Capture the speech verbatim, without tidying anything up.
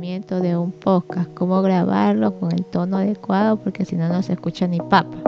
conocimiento de un podcast, cómo grabarlo con el tono adecuado, porque si no, no se escucha ni papa.